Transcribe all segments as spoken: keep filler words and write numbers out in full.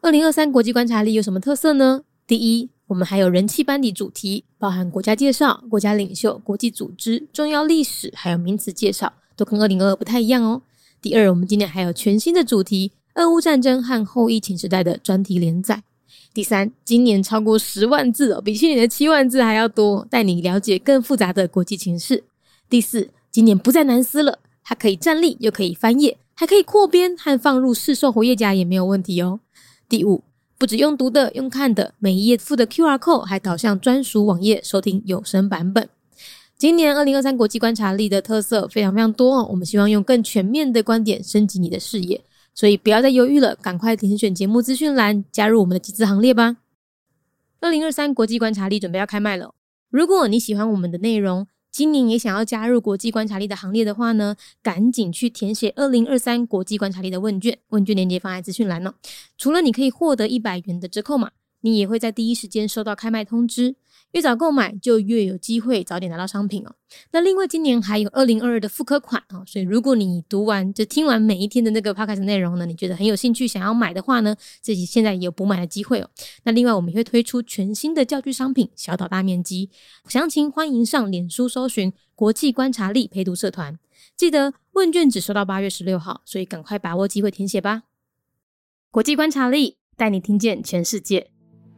二零二三国际观察力有什么特色呢？第一，我们还有人气班底主题，包含国家介绍、国家领袖、国际组织、重要历史，还有名词介绍，都跟二零二二不太一样哦。第二，我们今年还有全新的主题，俄乌战争和后疫情时代的专题连载。第三，今年超过十万字哦，比去年的七万字还要多，带你了解更复杂的国际情势。第四，今年不再难撕了，它可以站立又可以翻页，还可以扩编和放入市售活页夹也没有问题哦。第五，不只用读的，用看的，每一页附的 Q R code 还导向专属网页收听有声版本。今年二零二三国际观察力的特色非常非常多哦，我们希望用更全面的观点升级你的视野，所以不要再犹豫了，赶快点选节目资讯栏加入我们的集资行列吧。二零二三国际观察力准备要开卖了，如果你喜欢我们的内容，今年也想要加入国际观察力的行列的话呢，赶紧去填写二零二三国际观察力的问卷，问卷链接放在资讯栏哦。除了你可以获得一百元的折扣码，你也会在第一时间收到开卖通知，越早购买就越有机会早点拿到商品哦。那另外今年还有二零二二的复刻款哦，所以如果你读完就听完每一天的那个 podcast 内容呢，你觉得很有兴趣想要买的话呢，自己现在也有补买的机会哦。那另外我们也会推出全新的教具商品小岛大面积，详情欢迎上脸书搜寻国际观察力陪读社团，记得问卷只收到八月十六号，所以赶快把握机会填写吧。国际观察力带你听见全世界。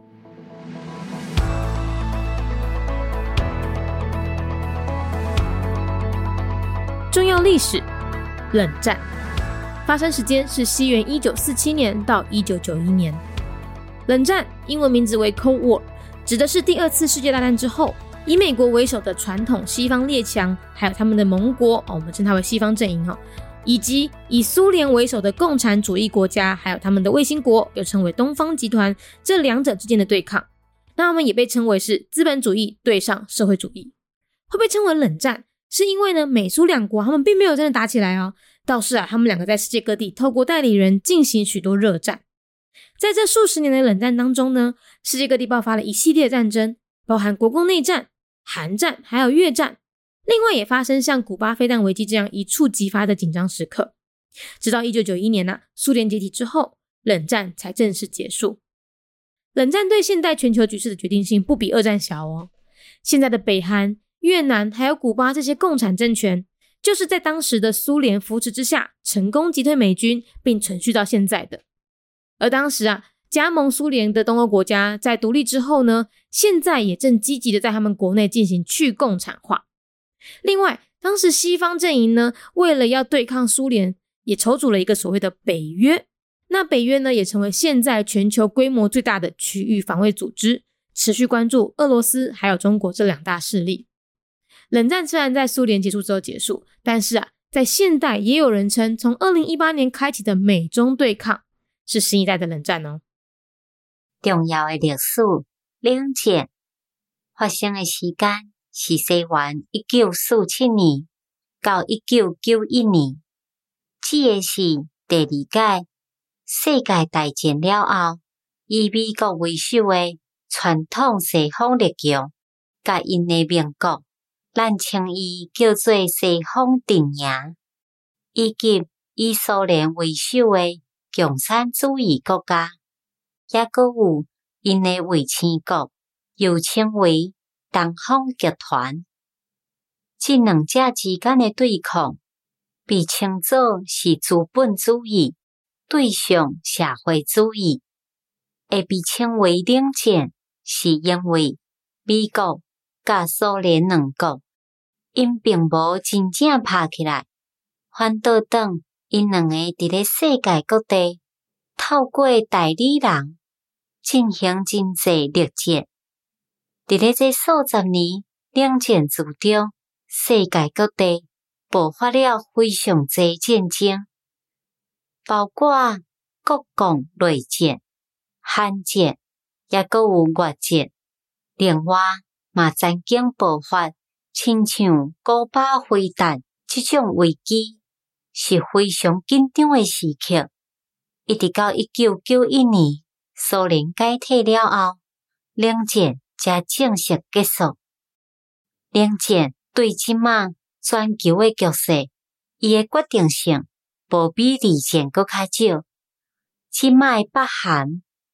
重要历史，冷战发生时间是西元一九四七年到一九九一年。冷战英文名字为 Cold War， 指的是第二次世界大战之后，以美国为首的传统西方列强，还有他们的盟国、哦、我们称它为西方阵营、哦、以及以苏联为首的共产主义国家，还有他们的卫星国，又称为东方集团，这两者之间的对抗。那他们也被称为是资本主义对上社会主义。会被称为冷战是因为呢，美苏两国他们并没有真的打起来哦，倒是啊，他们两个在世界各地透过代理人进行许多热战。在这数十年的冷战当中呢，世界各地爆发了一系列的战争，包含国共内战、韩战还有越战，另外也发生像古巴飞弹危机这样一触即发的紧张时刻。直到一九九一年啊，苏联解体之后，冷战才正式结束。冷战对现代全球局势的决定性不比二战小哦。现在的北韩、越南还有古巴这些共产政权，就是在当时的苏联扶持之下成功击退美军并存续到现在的。而当时啊，加盟苏联的东欧国家在独立之后呢，现在也正积极的在他们国内进行去共产化。另外，当时西方阵营呢，为了要对抗苏联，也筹组了一个所谓的北约。那北约呢，也成为现在全球规模最大的区域防卫组织，持续关注俄罗斯还有中国这两大势力。冷战虽然在苏联结束之后结束，但是啊，在现代也有人称从二零一八年开启的美中对抗是新一代的冷战哦。 重要的历史冷战发生的时间是西元一九四七年到一九九一年，指的是第二届世界大战了后，以美国为首的传统西方列强甲因的盟国，咱称伊叫做西方阵营，以及以苏联为首的共产主义国家，也閣有因的卫星国，又稱為東方集團。這兩者之間的對抗，被稱作是資本主義對上社會主義，會被稱為冷戰，是因為美國甲蘇聯兩國，因並無真正打起來，反倒當因兩個佇咧世界各地透過代理人進行真濟陸戰。佇咧這數十年冷戰之中，世界各地爆發了非常濟戰爭，包括國共內戰、韓戰，也閣有越戰。另外，嘛曾經爆發親像古巴飛彈這種危機，是非常緊張的時刻。一直到一九九一年蘇聯解體了後，冷戰才正式結束。冷戰對即馬全球的局勢，伊的決定性無比二戰閣較少。即馬的北韓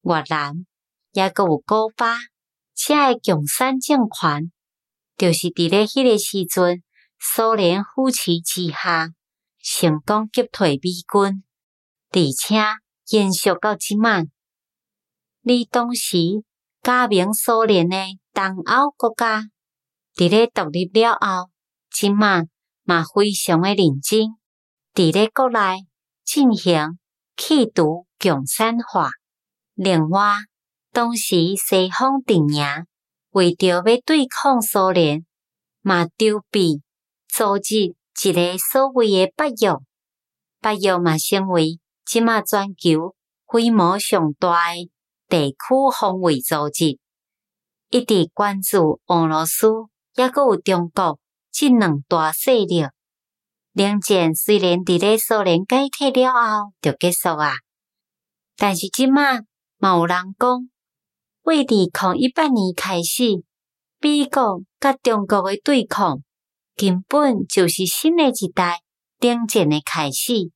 越南，也阁有古巴，这个共产政权，就是伫咧迄个时阵，苏联扶持之下，成功击退美军，而且延续到即卖。你当时加盟苏联的东欧国家，伫咧独立了后，即卖嘛非常的认真，伫咧国内进行企图共产化。另外，当时西方阵营为着要对抗苏联，嘛筹备组织一个所谓的北约。北约嘛成为即卖全球规模上大的地区防卫组织，一直关注俄罗斯，也阁有中国这两大势力。冷战虽然伫咧苏联解体了后就结束啊，但是即卖嘛有人讲，为二零一八年开始，美国甲中国的对抗根本就是新的一代冷战的开始。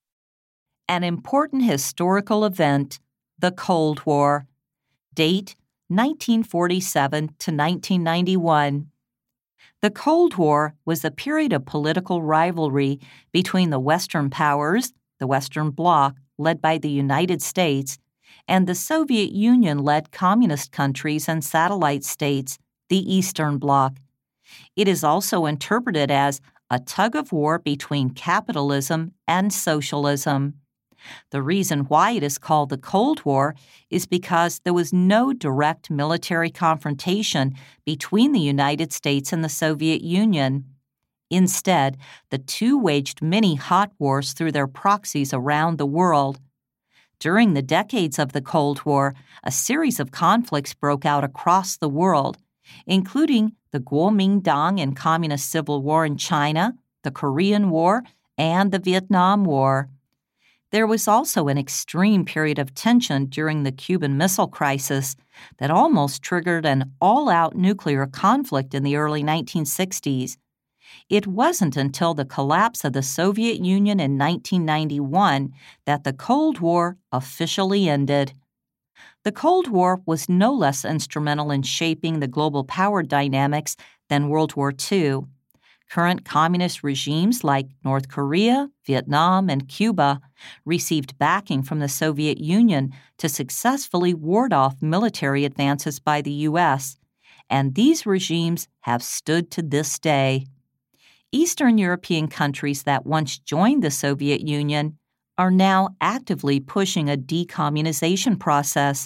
An important historical event, the Cold War. Date, nineteen forty-seven to nineteen ninety-one. The Cold War was a period of political rivalry between the Western powers, the Western Bloc, led by the United States, and the Soviet Union-led communist countries and satellite states, the Eastern Bloc. It is also interpreted as a tug-of-war between capitalism and socialism. The reason why it is called the Cold War is because there was no direct military confrontation between the United States and the Soviet Union. Instead, the two waged many hot wars through their proxies around the world. During the decades of the Cold War, a series of conflicts broke out across the world, including the Kuomintang and Communist Civil War in China, the Korean War, and the Vietnam War. There was also an extreme period of tension during the Cuban Missile Crisis that almost triggered an all-out nuclear conflict in the early nineteen sixties. It wasn't until the collapse of the Soviet Union in nineteen ninety-one that the Cold War officially ended. The Cold War was no less instrumental in shaping the global power dynamics than World War Two. Current communist regimes like North Korea, Vietnam, and Cuba received backing from the Soviet Union to successfully ward off military advances by the U S, and these regimes have stood to this day. Eastern European countries that once joined the Soviet Union are now actively pushing a decommunization process.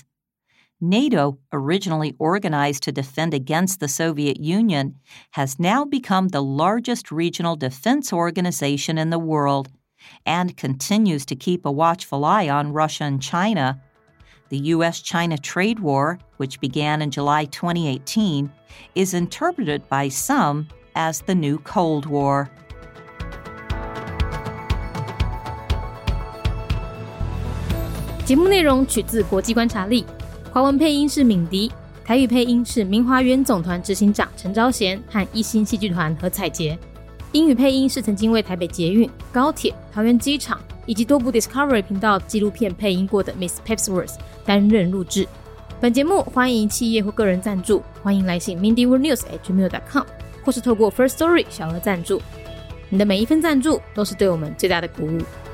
NATO, originally organized to defend against the Soviet Union, has now become the largest regional defense organization in the world and continues to keep a watchful eye on Russia and China. The U S China trade war, which began in July twenty eighteen, is interpreted by some as the new Cold War. 节目内容取自国际观察力，华文配音是敏迪，台语配音是明华园总团执行长陈昭贤和一星戏剧团何彩杰，英语配音是曾经为台北捷运、高铁、桃园机场以及多部 Discovery 频道纪录片配音过的 Miss Pepsworth 担任录制。本节目欢迎企业或个人赞助，欢迎来信 mindy world news at gmail dot com 或是透过 First Story 小额赞助。你的每一份赞助都是对我们最大的鼓舞。